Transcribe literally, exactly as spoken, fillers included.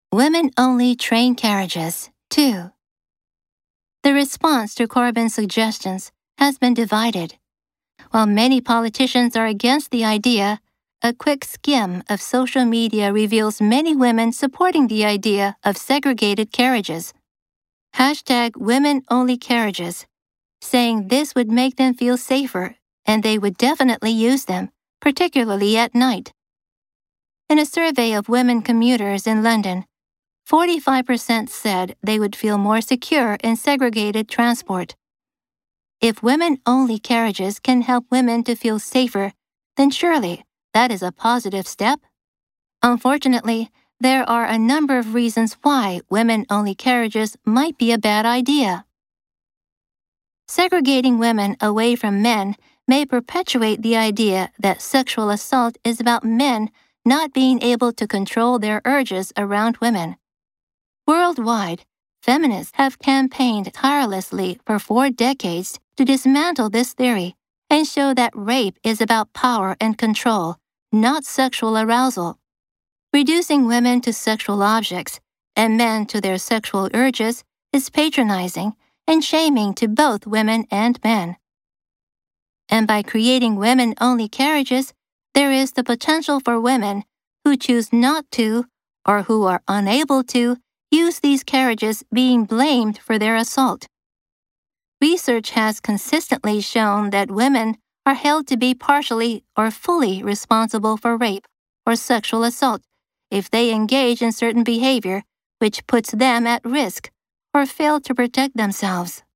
Women-only train carriages, two. The response to Corbyn's suggestions has been divided. While many politicians are against the idea, a quick skim of social media reveals many women supporting the idea of segregated carriages. Hashtag women-only carriages, saying this would make them feel safer and they would definitely use them, particularly at night. In a survey of women commuters in London, forty-five percent said they would feel more secure in segregated transport. If women-only carriages can help women to feel safer, then surely that is a positive step. Unfortunately, there are a number of reasons why women-only carriages might be a bad idea. Segregating women away from men may perpetuate the idea that sexual assault is about men not being able to control their urges around women. Worldwide, feminists have campaigned tirelessly for four decades to dismantle this theory and show that rape is about power and control, not sexual arousal. Reducing women to sexual objects and men to their sexual urges is patronizing and shaming to both women and men. And by creating women-only carriages, there is the potential for women who choose not to or who are unable to use these carriages being blamed for their assault. Research has consistently shown that women are held to be partially or fully responsible for rape or sexual assault if they engage in certain behavior which puts them at risk or fail to protect themselves.